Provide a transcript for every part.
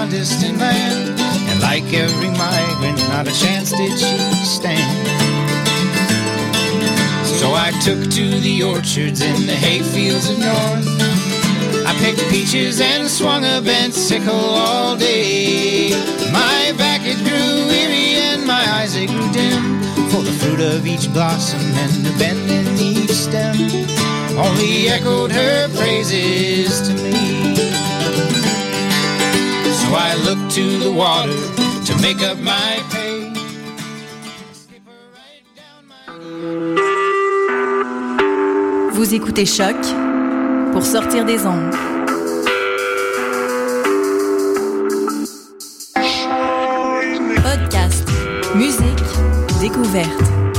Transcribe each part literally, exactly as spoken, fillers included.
a distant land. And like every migrant, not a chance did she stand. So I took to the orchards in the hayfields of north. I picked peaches and swung a bent sickle all day. My back it grew weary and my eyes they grew dim, for the fruit of each blossom and the bend in each stem only echoed her praises to me. So I looked to the water to make up my pay. Skip her right down my... Vous écoutez Choc pour sortir des ondes. Podcast, musique, découverte.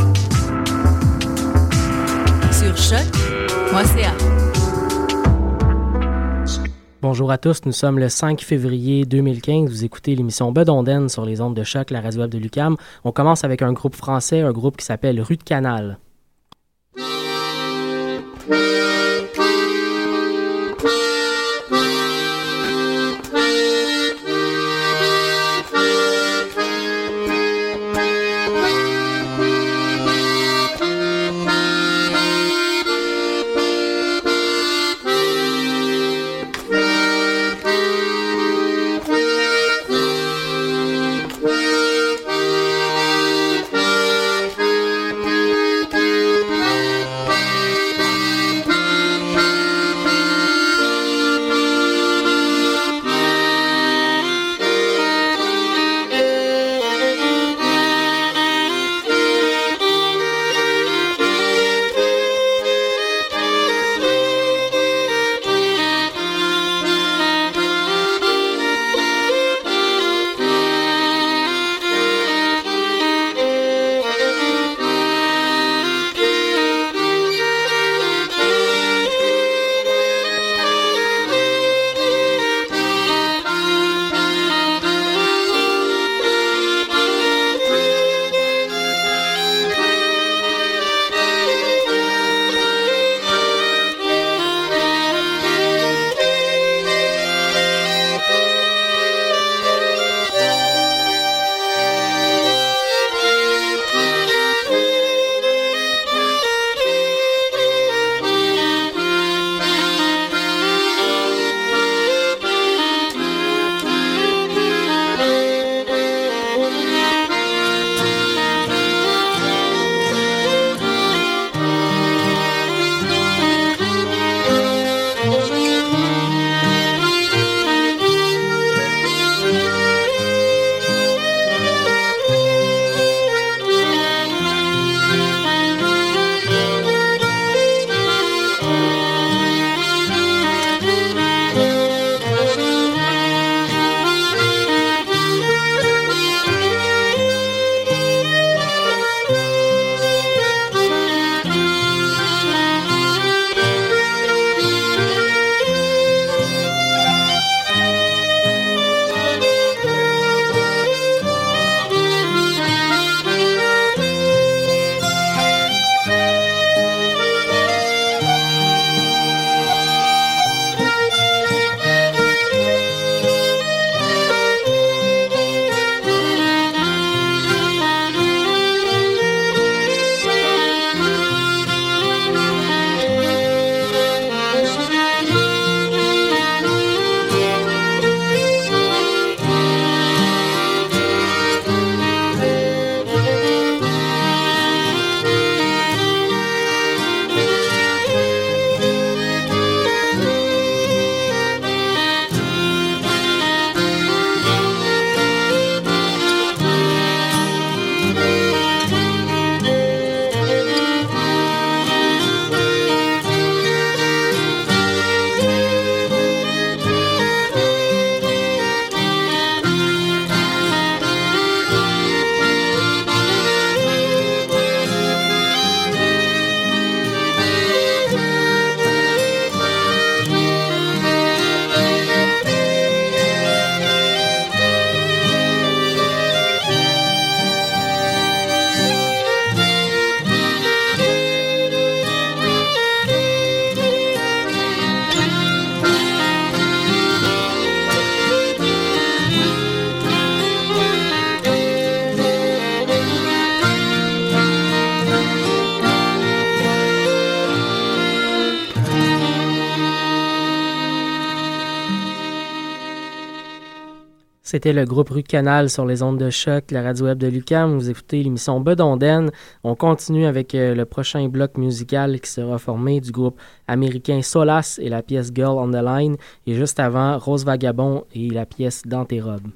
Sur choc point c a. Bonjour à tous, nous sommes le cinq février deux mille quinze. Vous écoutez l'émission Bedonden sur les ondes de Choc, la radio web de l'U Q A M. On commence avec un groupe français, un groupe qui s'appelle Rue de Canal. C'était le groupe Rue Canal sur les ondes de choc, la radio web de l'U Q A M. Vous écoutez l'émission Bedonden. On continue avec euh, le prochain bloc musical qui sera formé du groupe américain Solace et la pièce Girl on the Line. Et juste avant, Rose Vagabond et la pièce Dans tes robes.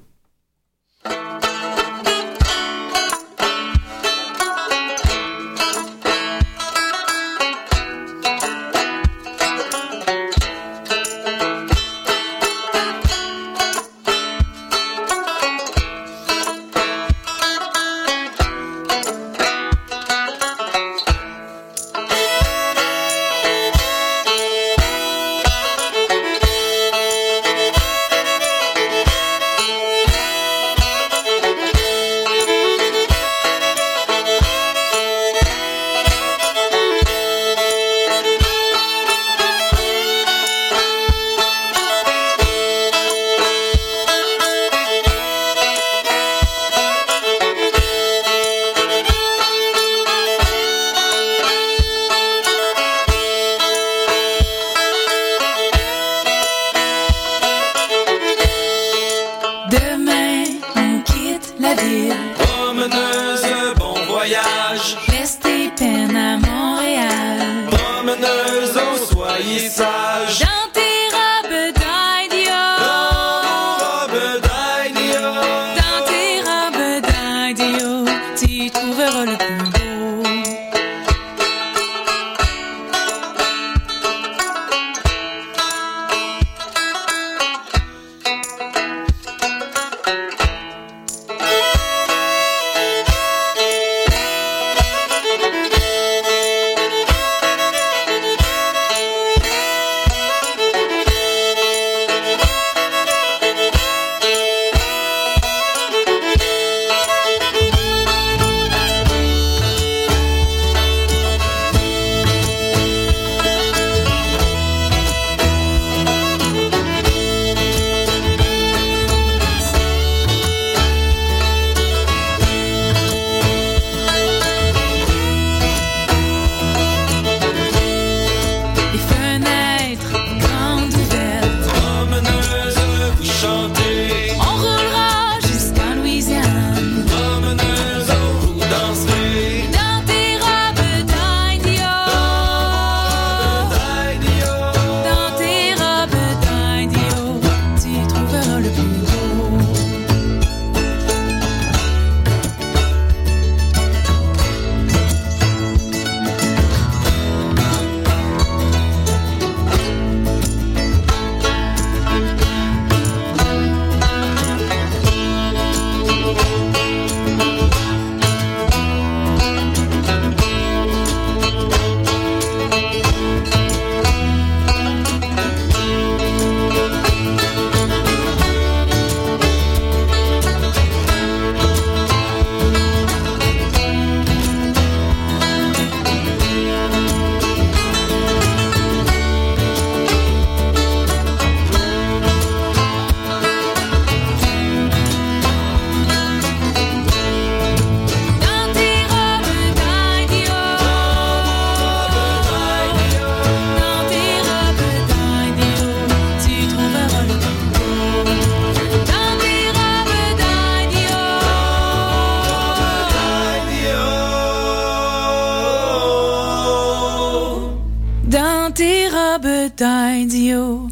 d'Idio,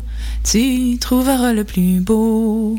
tu trouveras le plus beau.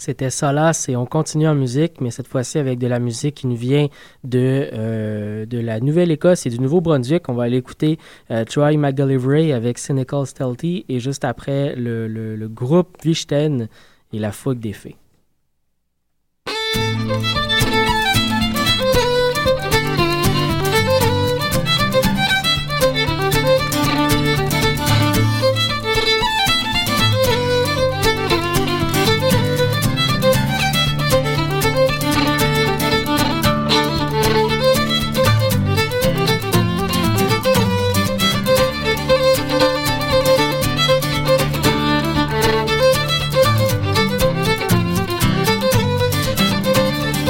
c'était Solace et on continue en musique, mais cette fois-ci avec de la musique qui nous vient de, euh, de la Nouvelle-Écosse et du Nouveau-Brunswick. On va aller écouter euh, Troy McGillivray avec Cynical Stealthy et juste après le, le, le groupe Vichten et La Fougue des Fées. Thank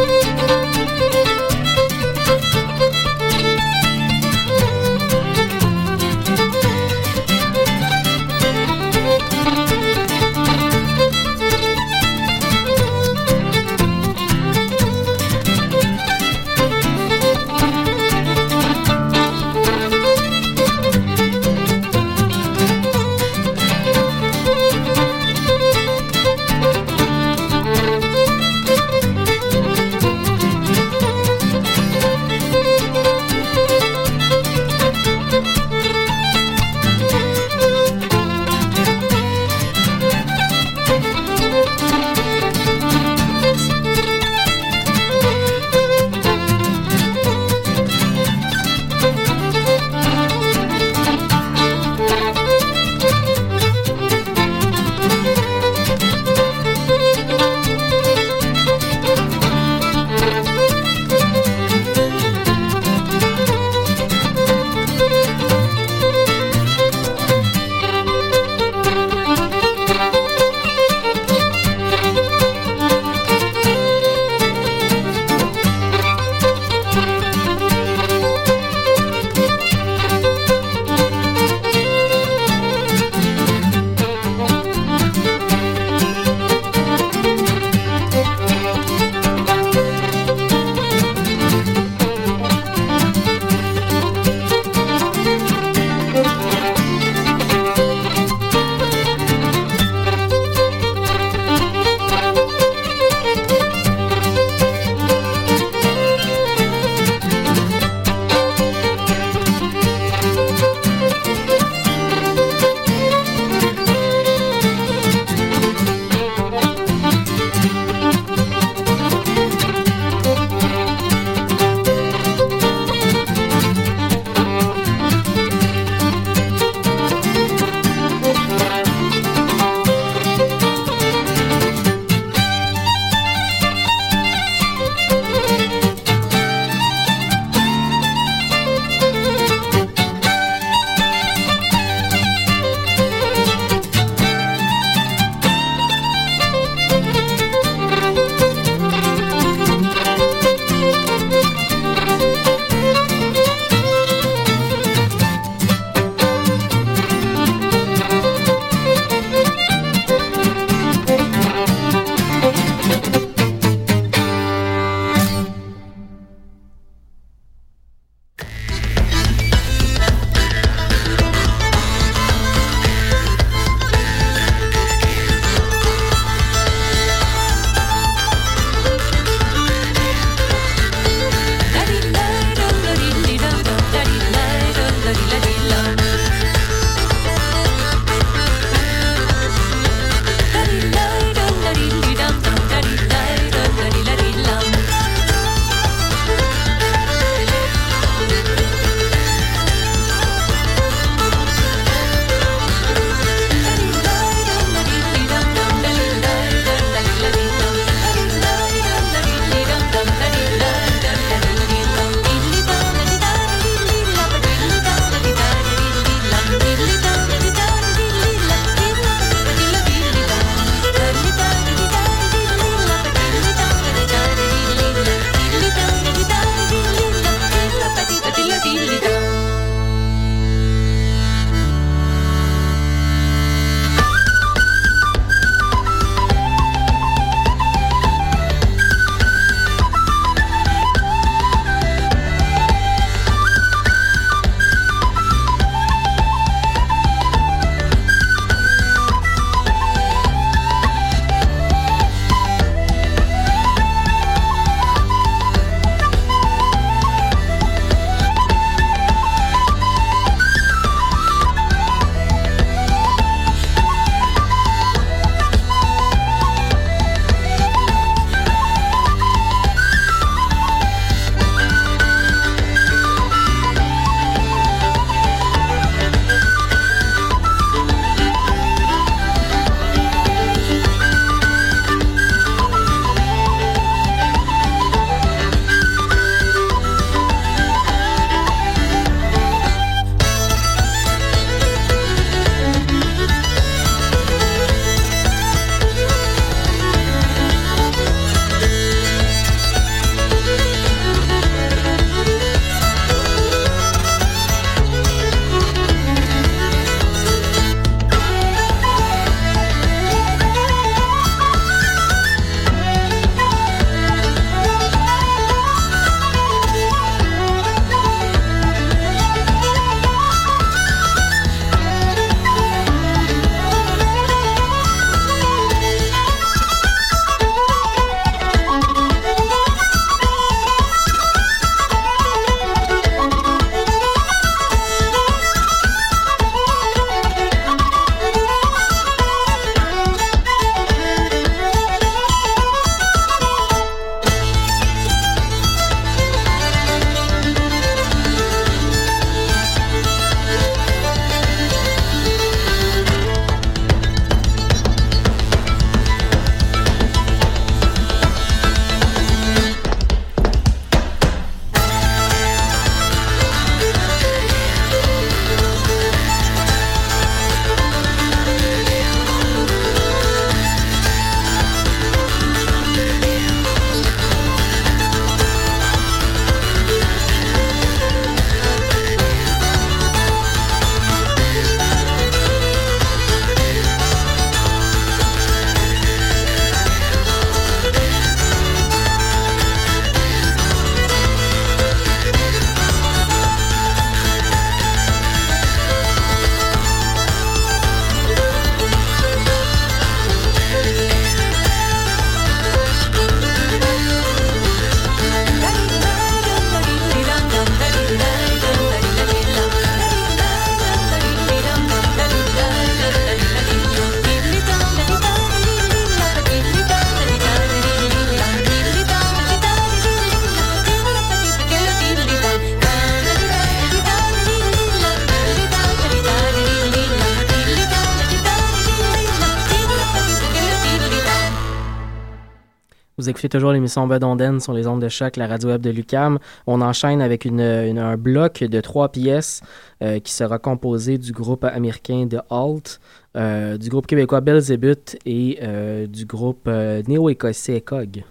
Vous écoutez toujours l'émission Bedonden sur les ondes de choc, la radio web de l'U Q A M. On enchaîne avec une, une, un bloc de trois pièces euh, qui sera composé du groupe américain The Halt, euh, du groupe québécois Belzébuth et euh, du groupe euh, néo-écossais Cog.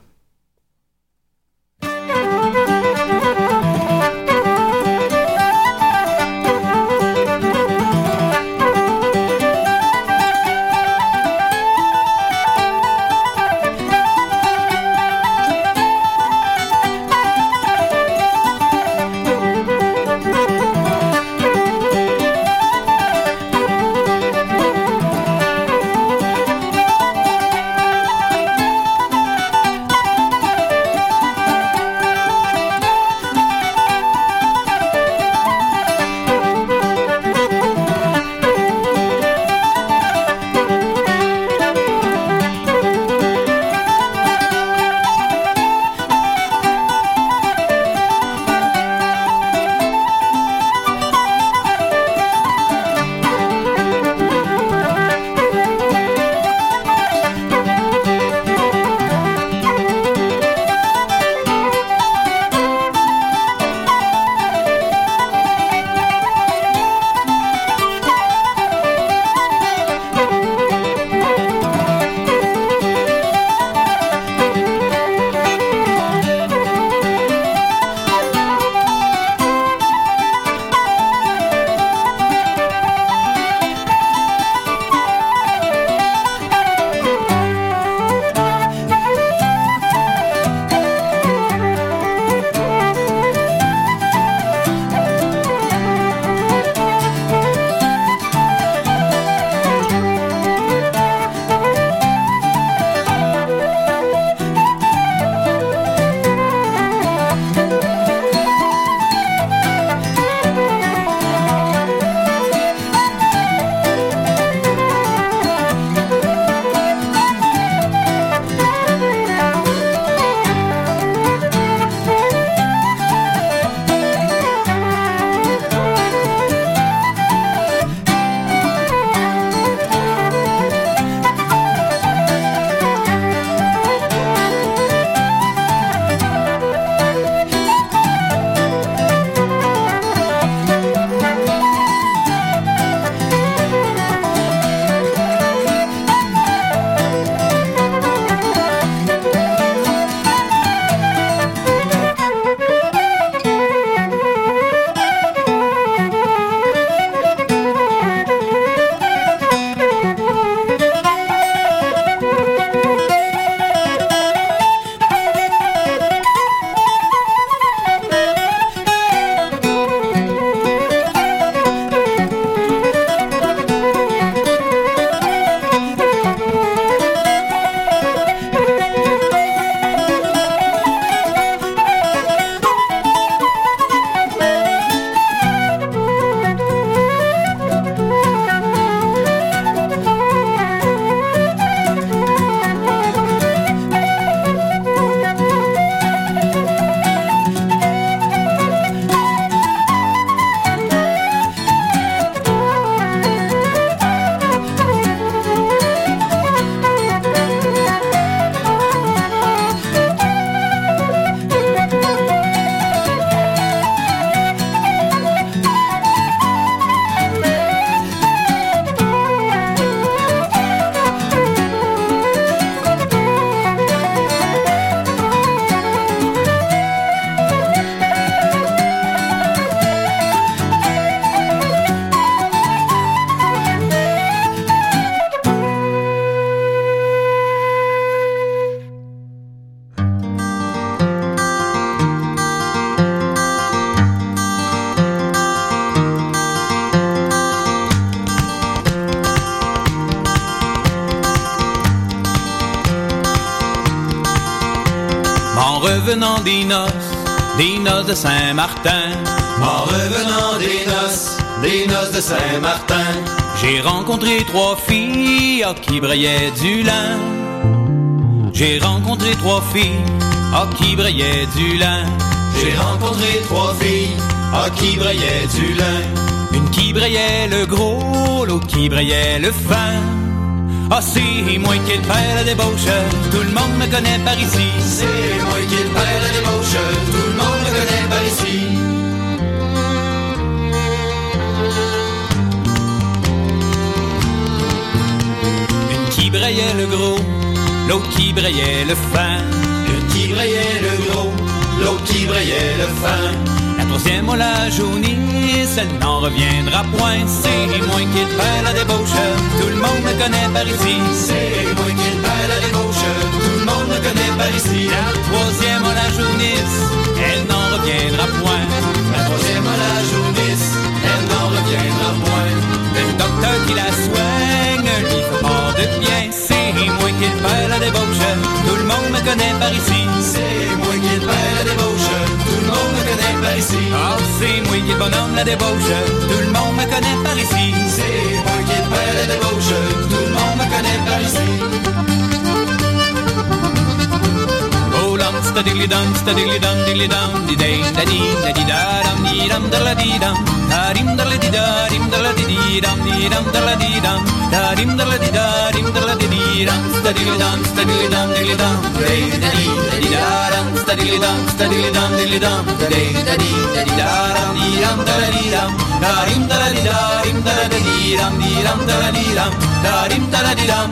En revenant des noces, des noces de Saint-Martin. En revenant des noces, des noces de Saint-Martin. J'ai rencontré trois filles à qui brillait du lin. J'ai rencontré trois filles à qui brillait du lin. J'ai rencontré trois filles à qui brillait du lin. Une qui brillait le gros, l'autre qui brillait le fin. Ah, c'est moi qui est le père la débauche, tout le monde me connaît par ici. C'est moi qui est le père la débauche, tout le monde me connaît par ici. Une qui brayait le gros, l'autre qui brayait le fin. Une qui brayait le gros, l'autre qui brayait le fin. La troisième, on la jaunisse, elle n'en reviendra point. C'est moi qui le père la débauche, tout le monde me connaît par ici. C'est moi qui le père la débauche, tout le monde me connaît par ici. La troisième, on la jaunisse, elle n'en reviendra point. La troisième, on la jaunisse, elle n'en reviendra point. Le docteur qui la soigne, lui fait pas de bien. C'est moi qui le père la débauche, tout le monde me connaît par ici. C'est moi qui le père la débauche, tout le monde me connaît par ici. Ah, c'est moi qui le bonhomme la débauche, tout le monde me connaît par ici. C'est moi qui le père la débauche, tout le monde me connaît par ici. Oh, lum, sta diggly dum, sta diggly dum, diggly dum, di day, da di, da di da dum, di dum, da la di dum, da dim, da la di da, dim, da la di di dum, di dum, da la di dum, da dim, da la di da, dim, da la di di dum, sta diggly dum, sta diggly dum, diggly dum, day, da di, da di da dum, sta diggly dum, sta diggly dum, diggly dum, day, da di, da di da dum, di dum, da la di dum, da dim, da la di da, dim, da la di di dum, di dum, da la di dum, da dim, da la di dum.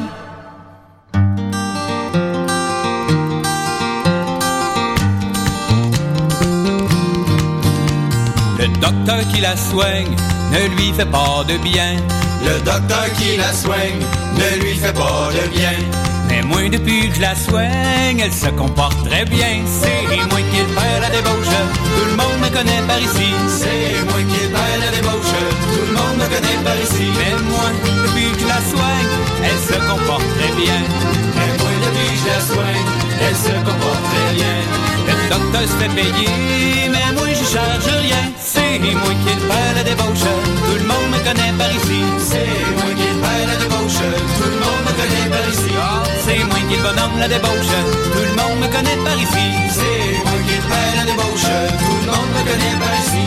Le docteur qui la soigne ne lui fait pas de bien. Le docteur qui la soigne ne lui fait pas de bien. Mais moi depuis que je la soigne, elle se comporte très bien. C'est moi qui le père la débauche, tout le monde me connaît par ici. C'est moi qui le père la débauche, tout le monde me connaît par ici. Mais moi depuis que je la soigne, elle se comporte très bien. Mais moi depuis que je la soigne, elle se comporte très bien. Le docteur se fait payer, mais moi je charge rien. C'est moi qui le père la débauche, tout le monde me connaît par ici. C'est moi qui le père la débauche, tout le monde me connaît par ici. Oh, c'est moi qui le bonhomme la débauche, tout le monde me connaît par ici. C'est moi qui le père la débauche, tout le monde me connaît par ici.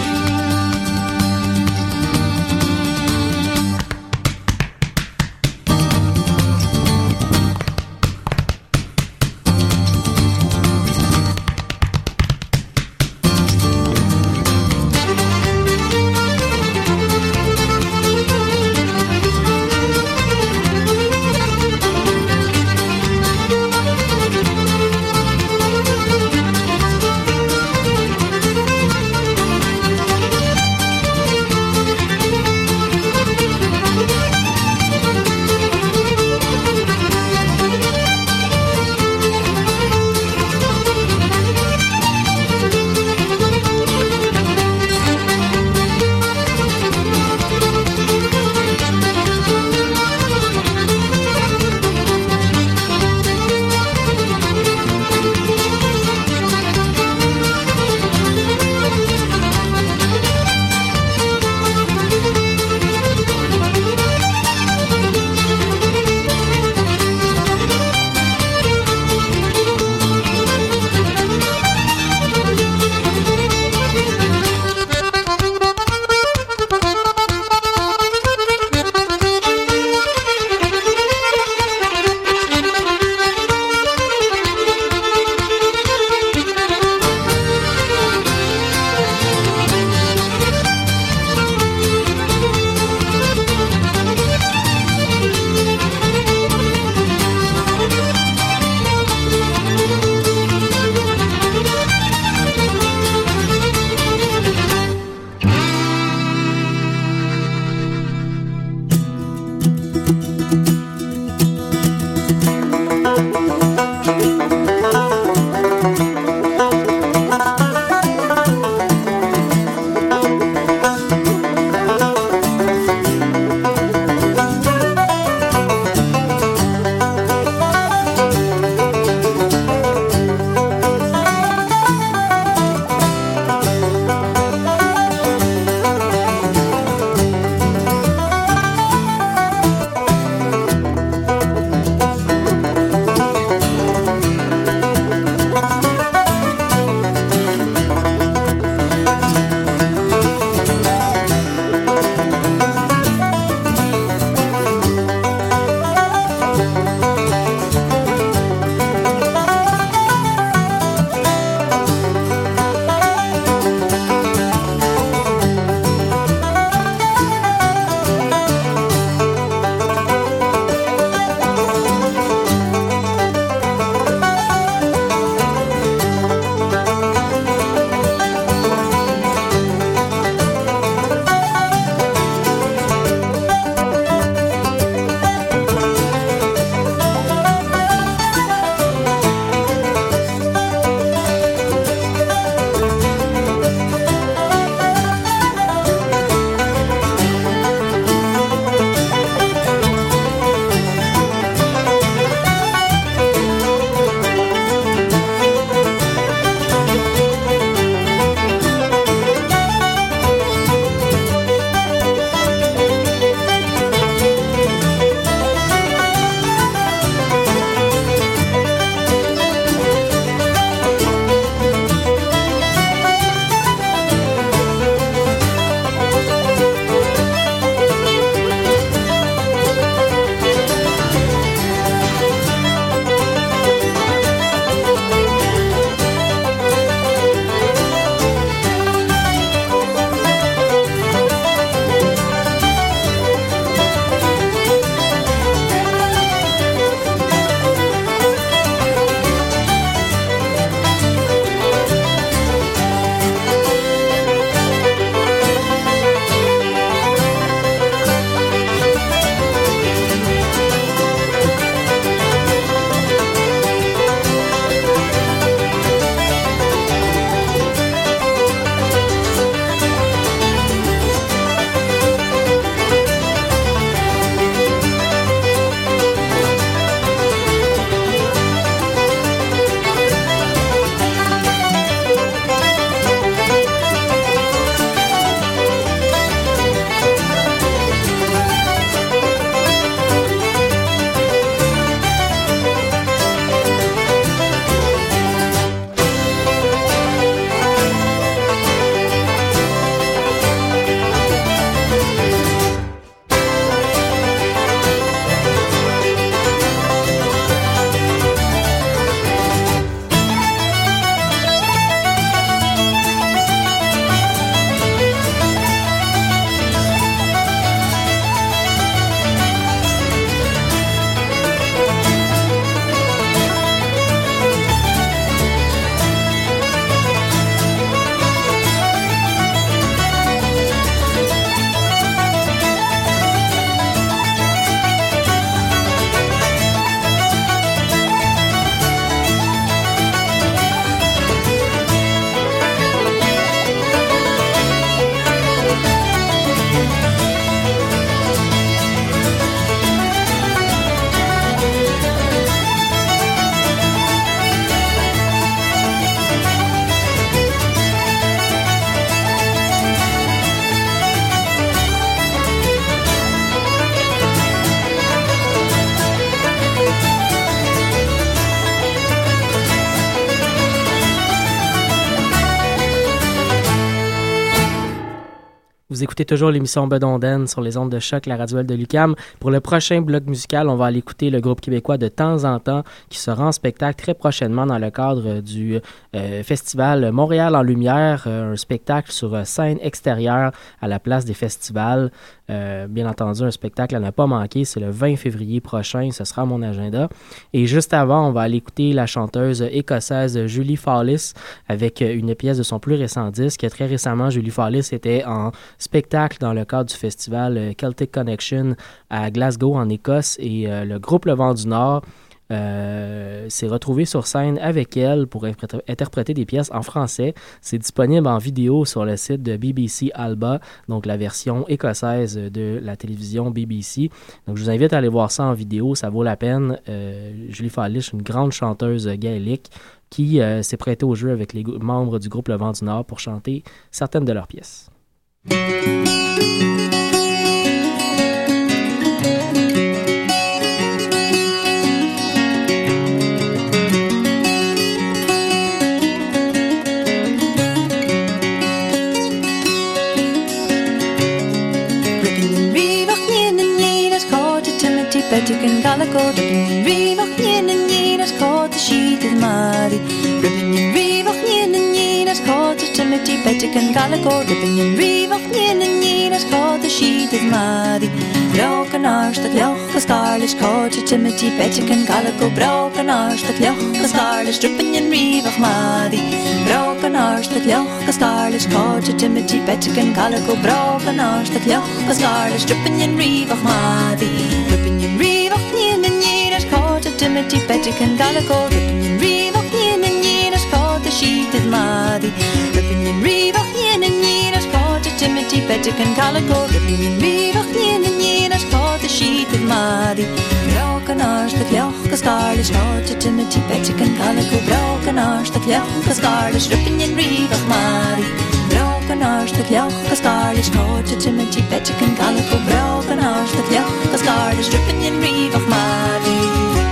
Vous écoutez toujours l'émission Bedonden sur les ondes de choc, la radio de l'U Q A M. Pour le prochain bloc musical, on va aller écouter le groupe québécois De Temps en Temps qui sera en spectacle très prochainement dans le cadre du euh, festival Montréal en Lumière, euh, un spectacle sur euh, scène extérieure à la place des festivals. Euh, bien entendu, un spectacle à ne pas manquer, c'est le vingt février prochain, ce sera à mon agenda. Et juste avant, on va aller écouter la chanteuse écossaise Julie Fawless avec une pièce de son plus récent disque. Très récemment, Julie Fawless était en spectacle dans le cadre du festival Celtic Connection à Glasgow, en Écosse, et euh, le groupe Le Vent du Nord euh, s'est retrouvé sur scène avec elle pour impr- interpréter des pièces en français. C'est disponible en vidéo sur le site de B B C Alba, donc la version écossaise de la télévision B B C. Donc je vous invite à aller voir ça en vidéo, ça vaut la peine. Euh, Julie Fawless, une grande chanteuse gaélique qui euh, s'est prêtée au jeu avec les go- membres du groupe Le Vent du Nord pour chanter certaines de leurs pièces. Petigan Galago, Ribbon Revoch Yin and Yin as called the sheet of Madi. Ribbon Revoch Yin and Yin as called the Timothy Petigan Galago, Ribbon Revoch Yin and Yin as called the sheet of Madi. Broken arse, the cloch, the starlish called the Timothy Petigan Galago, broken arse, the cloch, the starlish dripping in Revoch Madi. Broken arse, the cloch, the starlish called the Timothy Petigan Galago, broken arse, the cloch, the starlish dripping in Revoch Madi. Timothy Petigan Galago, Rippin' and Revoch Yin and Yin as called the sheet of Madi. Rippin' and Revoch Yin and Yin as called the Timothy Petigan Galago, Rippin' and Revoch Yin and Yin as called the sheet of Madi. Broken arse, the cloch, the starlish called the Timothy Petigan Galago, broken arse, the cloch, the starlish, Rippin' and Revoch Madi. Broken arse, the cloch, the starlish called the Timothy Petigan Galago, broken arse, the cloch, the starlish, Rippin' and Revoch Madi.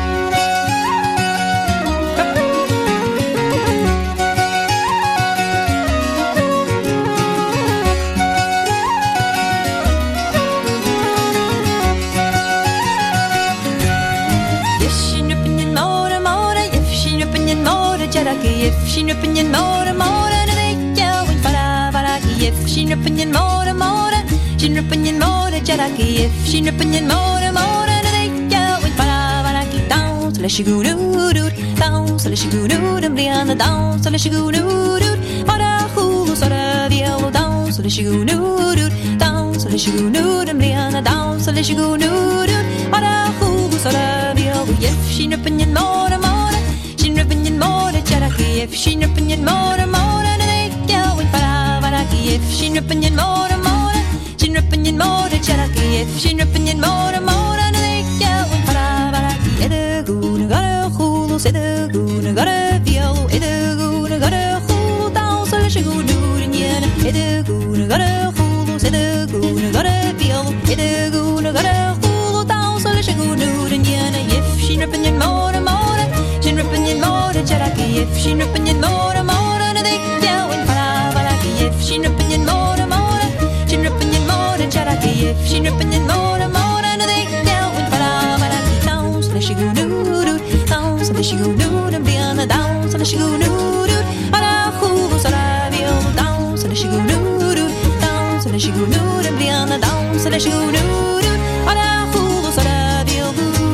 If she nippin' in more more and they going fara fara if she nippin' in more more she nippin' in more jaraki if she nippin' in more more and they going fara fara down so let she go do do down so let she go do and be on the down so let she go do do para who so the yellow down so let she go do do down so let she go do and be on the down so let she go do do para who so the yellow if she nippin' in more more nippin' in more jaraki if she nippin' in more more and they going para varaki if she nippin' in more more she nippin' in more jaraki if she nippin' in more more and they going para varaki ede gune gara khulu ede gune gara violo ede gune gara khulu down so let she go do in yen ede gune gara khulu ede gune gara violo ede gune gara khulu down so let she go do in yen if she nippin' in more more she nippin' in more jaraki if she nippin' in more more and they going para varaki if she nippin' in more more she nippin' in more jaraki if she nippin' in more more and they going para varaki down so let she go do do down so let she go do and be on the down so let she go do do para who so la vio down so let she go do do down so let she go do and be on the down so let she go do do para who so la vio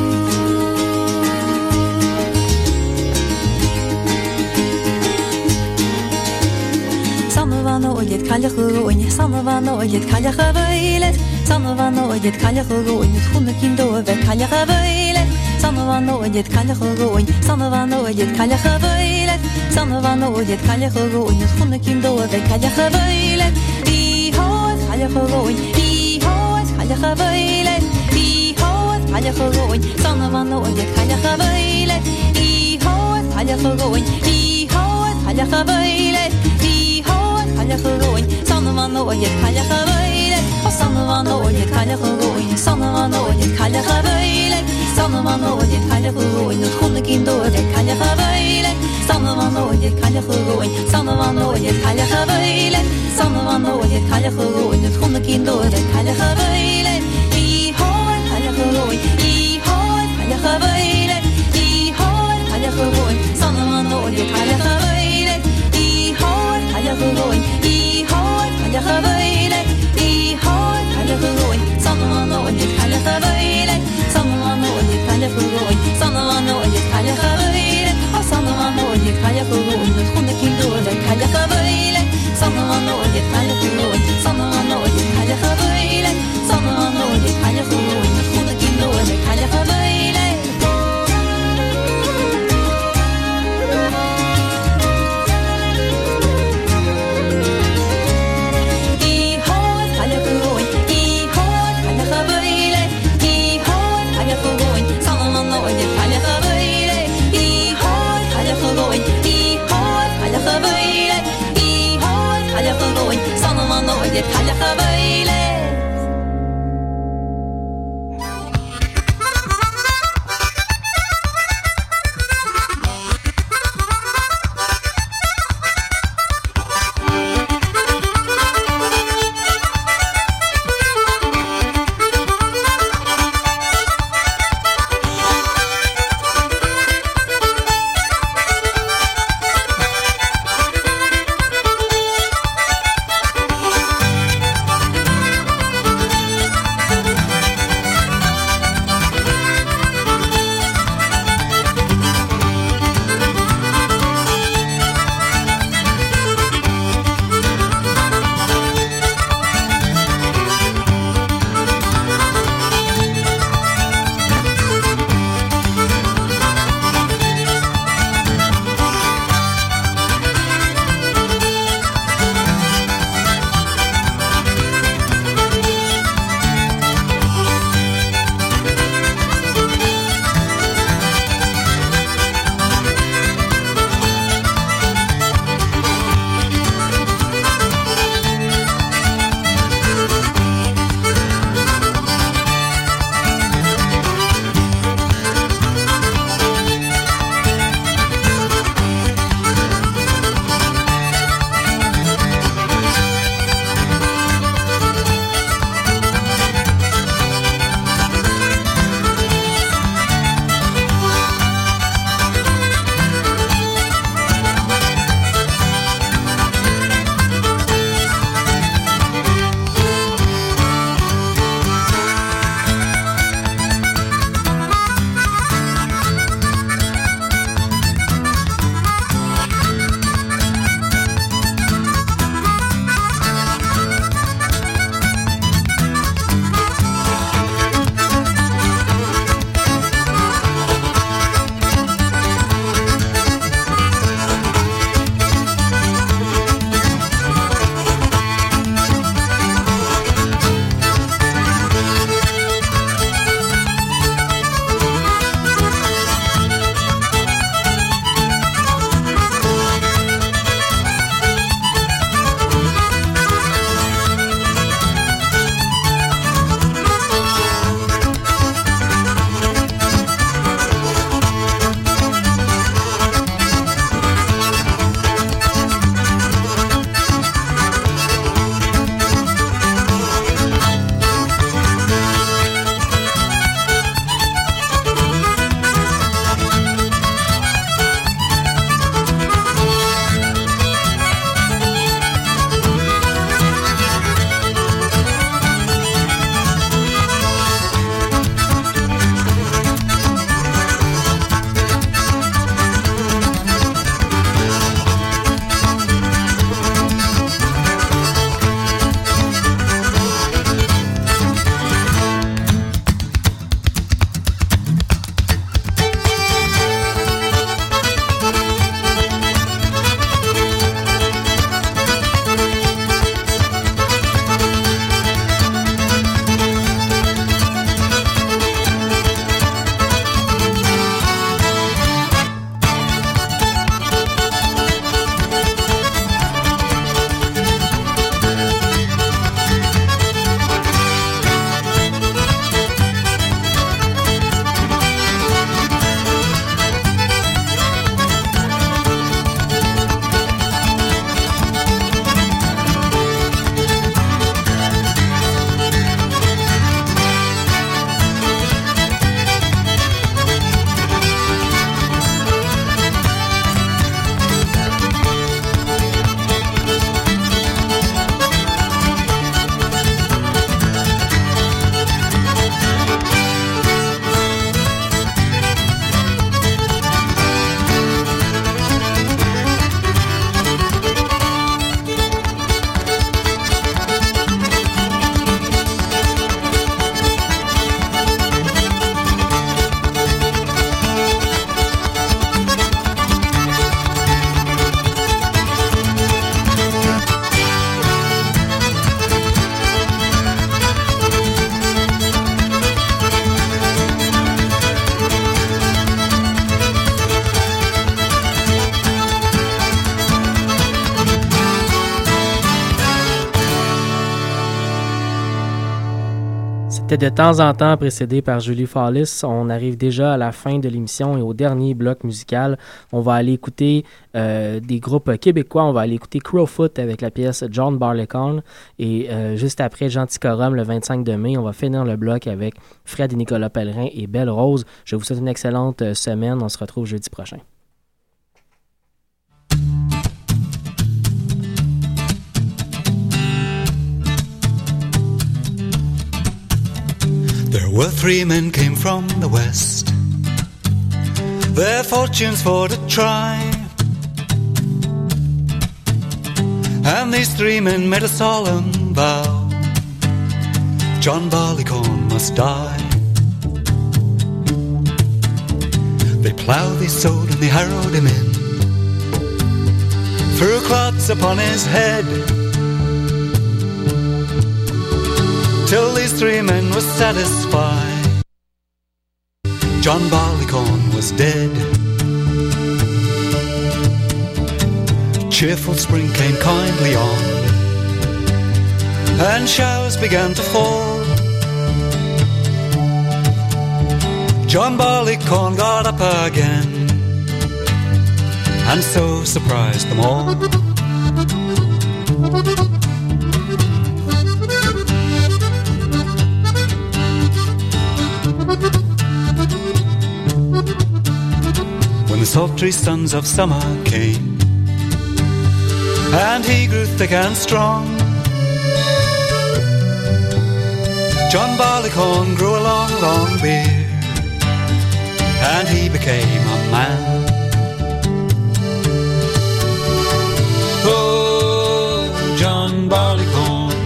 Sanavano ojet kaljachu oin Sanavano ojet kaljacha veilet Sanavano ojet kaljachu oin Tchunne kindo ve kaljacha veilet Sanavano ojet kaljachu oin Sanavano ojet kaljacha veilet Sanavano ojet kaljachu oin Tchunne kindo ve kaljacha veilet I hoet kaljachu oin I hoet kaljacha veilet I hoet kaljachu oin Sanavano ojet kaljacha veilet I hoet kaljachu oin I hoet kaljacha veilet Sanavano ojet kaljacha veilet Sanavano ojet kaljacha oin Sanavano ojet kaljacha veilet Sanavano ojet kaljacha oin Tchunne kindo ve kaljacha veilet Sanavano ojet kaljacha oin Sanavano ojet kaljacha veilet Sanavano ojet kaljacha oin Tchunne يف حلق بيلات était de temps en temps précédé par Julie Fallis. On arrive déjà à la fin de l'émission et au dernier bloc musical. On va aller écouter euh, des groupes québécois. On va aller écouter Crowfoot avec la pièce John Barleycorn. Et euh, juste après Gentilcorum, le vingt-cinq de mai, on va finir le bloc avec Fred et Nicolas Pellerin et Belle Rose. Je vous souhaite une excellente semaine. On se retrouve jeudi prochain. There were three men came from the west, their fortunes for to try. And these three men made a solemn vow, John Barleycorn must die. They ploughed, they sowed, and they harrowed him in, threw clods upon his head, till these three men were satisfied, John Barleycorn was dead. Cheerful spring came kindly on, and showers began to fall. John Barleycorn got up again, and so surprised them all. When the sultry suns of summer came, and he grew thick and strong, John Barleycorn grew a long, long beard, and he became a man. Oh, John Barleycorn,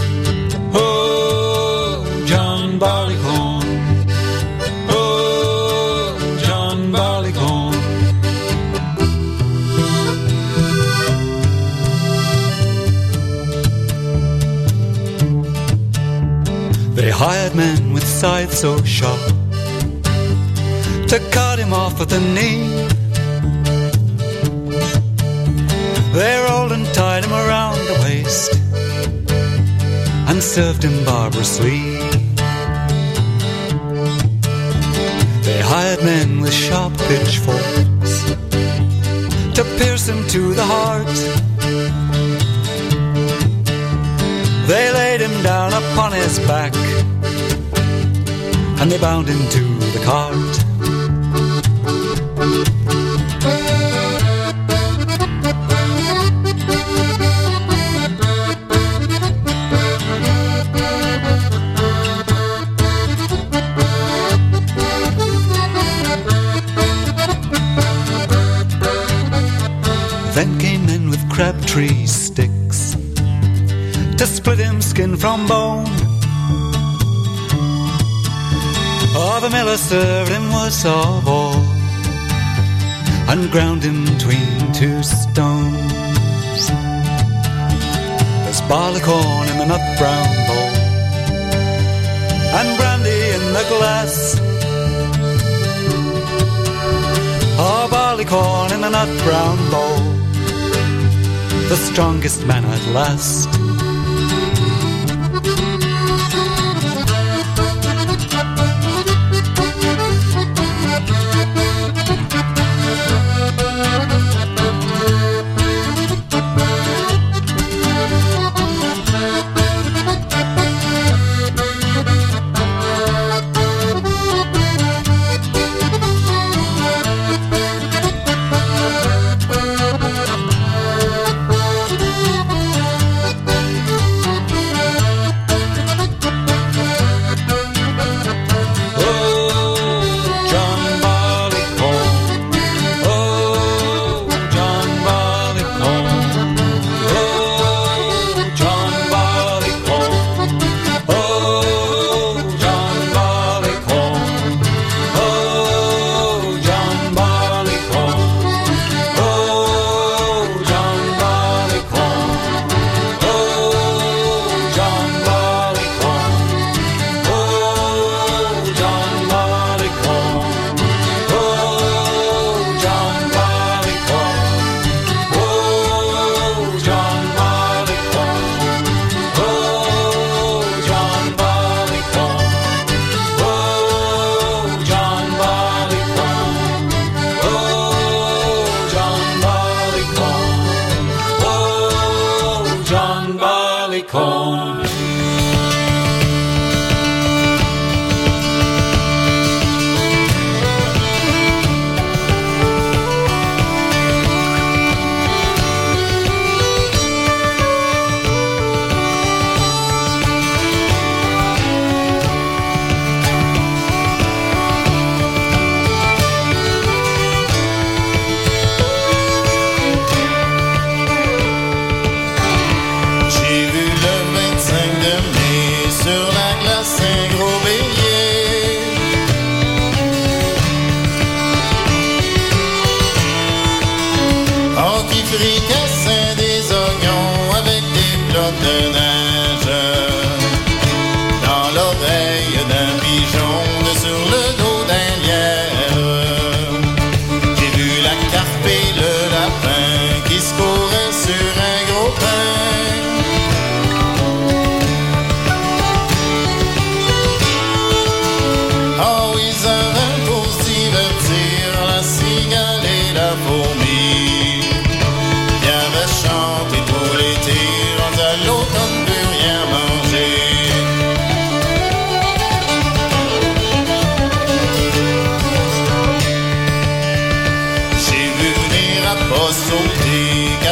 oh, John Barleycorn, oh, John Barleycorn. They hired men with scythes so sharp to cut him off at the knee. They rolled and tied him around the waist and served him barbarously. They hired men with sharp pitchforks to pierce him to the heart. They laid him down upon his back, and they bound him to the cart. Then came men with crabtree sticks to split him skin from bone. Oh, the miller served him worst of all, and ground him between two stones. There's barleycorn in the nut brown bowl, and brandy in the glass. Oh, barleycorn in the nut brown bowl, the strongest man at last.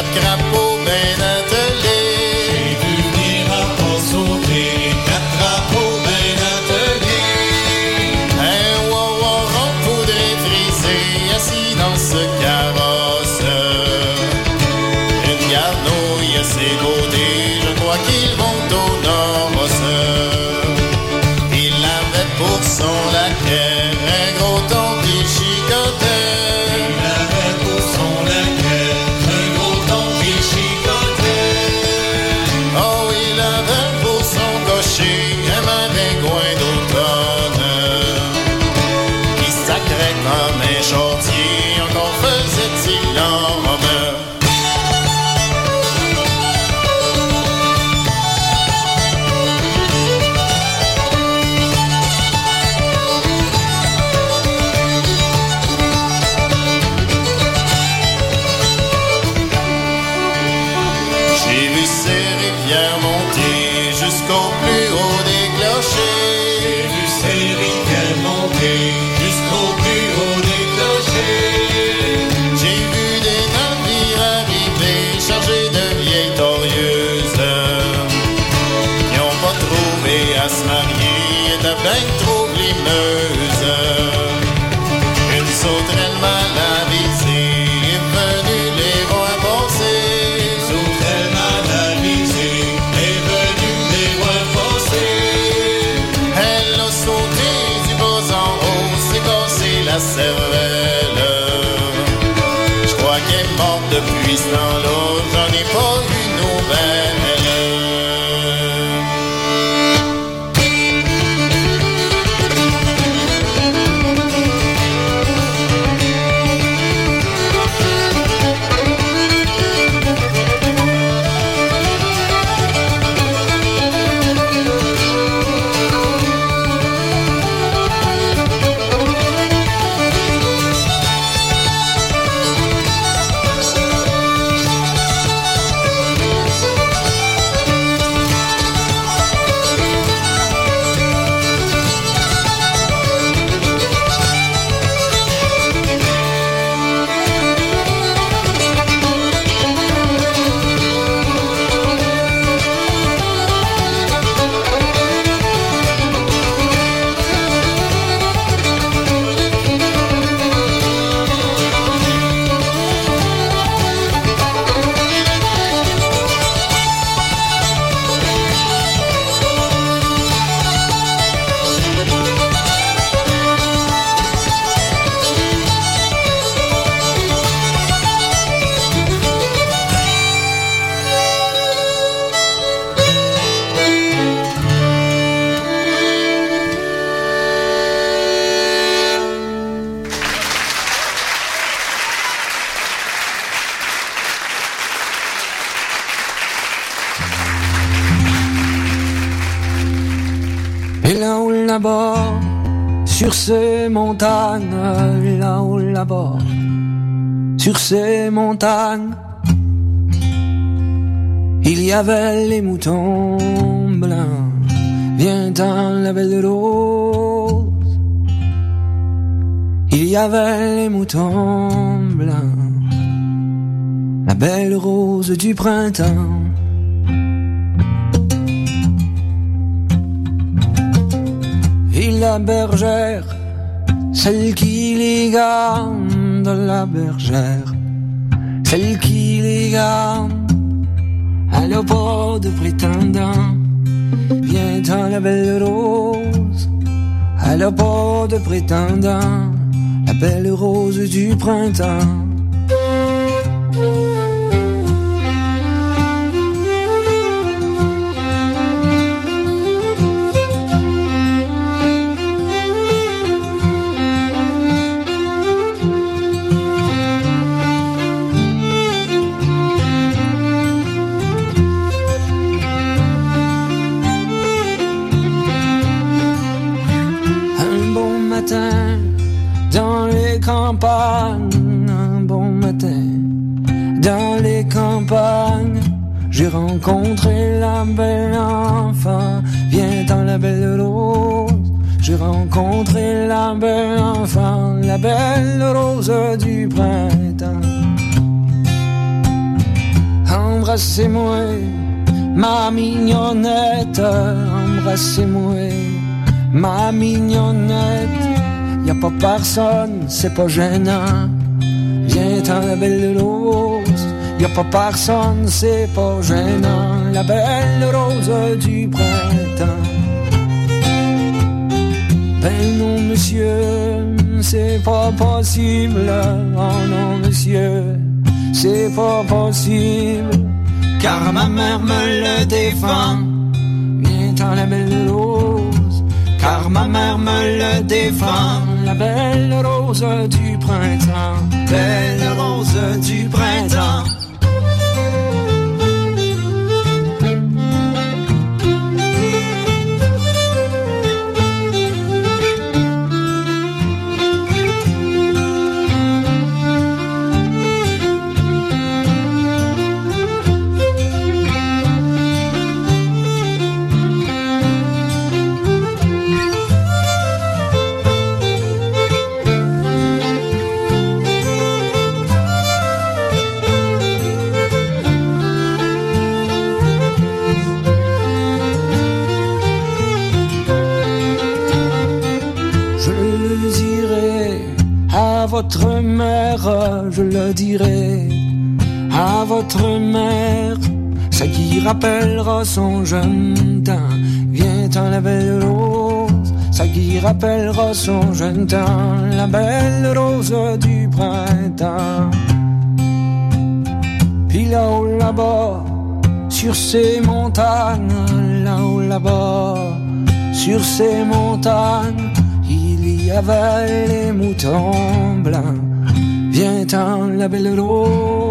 crapauds bien attelés. J'ai vu venir à pas sauter quatre crapauds bien attelés. Un wow-wow rond poudré frisé assis dans ce carrosse. Une garnouille à ses côtés, je crois qu'ils vont au noces. Il avait pour son laquais un gros ton qui chicotait. Il avait pour son laquais un gros ton qui chicotait. Oh, il avait pour son cocher un maringouin d'automne qui sacrait comme un chantier, encore faisait-il l'homme. J'ai vu ces rivières monter jusqu'au plus haut des clochers. J'ai vu ces rivières monter jusqu'au plus haut des clochers. J'ai vu des navires arriver chargés de vieilles torieuses qui n'ont pas trouvé à se marier, étaient bien trop glimeuses. Une sauterelle mal avisée est venue les voir passer. Une sauterelle mal avisée est venue les voir passer. Elle a sauté du bas en haut, s'est cassé la cervelle. Je crois qu'elle est morte depuis ce temps-là, j'en ai pas eu nouvelle. Et là-haut là-bas, sur ces montagnes, là-haut là-bas, sur ces montagnes, il y avait les moutons blancs. Viens-t'en la belle rose. Il y avait les moutons blancs, la belle rose du printemps. Et la bergère, celle qui les garde, la bergère, celle qui les garde, elle a pas de prétendant. Viens-t'en la belle rose, elle a pas de prétendant, la belle rose du printemps. Dans les campagnes, un bon matin, dans les campagnes, j'ai rencontré la belle enfant. Viens dans la belle rose, j'ai rencontré la belle enfant, la belle rose du printemps. embrassez-moi, ma mignonnette, embrassez-moi, ma mignonnette. Y a pas personne, c'est pas gênant. Viens-t'en la belle rose. Y a pas personne, c'est pas gênant. La belle rose du printemps. Ben non monsieur, c'est pas possible. Oh non monsieur, c'est pas possible. Car ma mère me le défend. Viens-t'en la belle rose. Car ma mère me le défend. La belle rose du printemps. Belle rose du printemps. Votre mère, je le dirai à votre mère, ça qui rappellera son jeune temps. Viens-t'en la belle rose, ça qui rappellera son jeune temps. La belle rose du printemps. Puis là-haut là-bas, sur ces montagnes, là-haut là-bas, sur ces montagnes, il y avait les moutons blancs. Viens-t'en la belle rose,